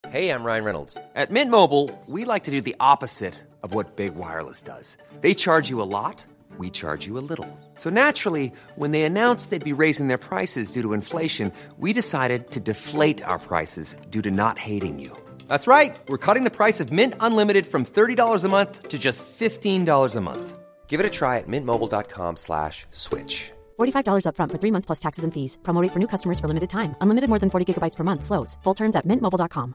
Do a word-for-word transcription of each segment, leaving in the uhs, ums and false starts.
Hey, I'm Ryan Reynolds. At Mint Mobile, we like to do the opposite of what Big Wireless does. They charge you a lot, we charge you a little. So naturally, when they announced they'd be raising their prices due to inflation, we decided to deflate our prices due to not hating you. That's right. We're cutting the price of Mint Unlimited from thirty dollars a month to just fifteen dollars a month. Give it a try at mintmobile.com slash switch. forty-five dollars up front for three months plus taxes and fees. Promo rate for new customers for limited time. Unlimited more than forty gigabytes per month slows. Full terms at mint mobile dot com.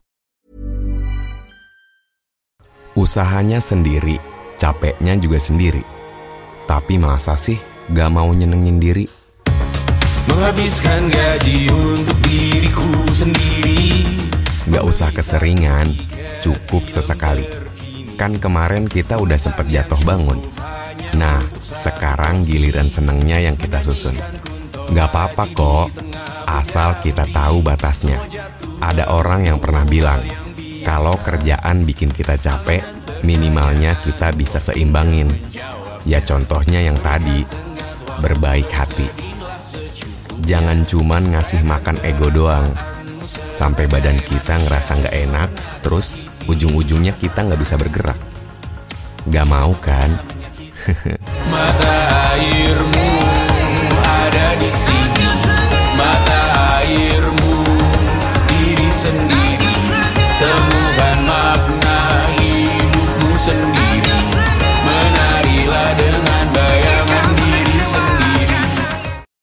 Usahanya sendiri, capeknya juga sendiri. Tapi masa sih gak mau nyenengin diri? Menghabiskan gaji untuk diriku sendiri. Gak usah keseringan, cukup sesekali. Kan kemarin kita udah sempet jatuh bangun. Nah, sekarang giliran senengnya yang kita susun. Gak apa-apa kok, asal kita tahu batasnya. Ada orang yang pernah bilang, kalau kerjaan bikin kita capek, minimalnya kita bisa seimbangin. Ya contohnya yang tadi, berbaik hati. Jangan cuman ngasih makan ego doang, sampai badan kita ngerasa gak enak, terus ujung-ujungnya kita gak bisa bergerak. Gak mau kan? Mata airmu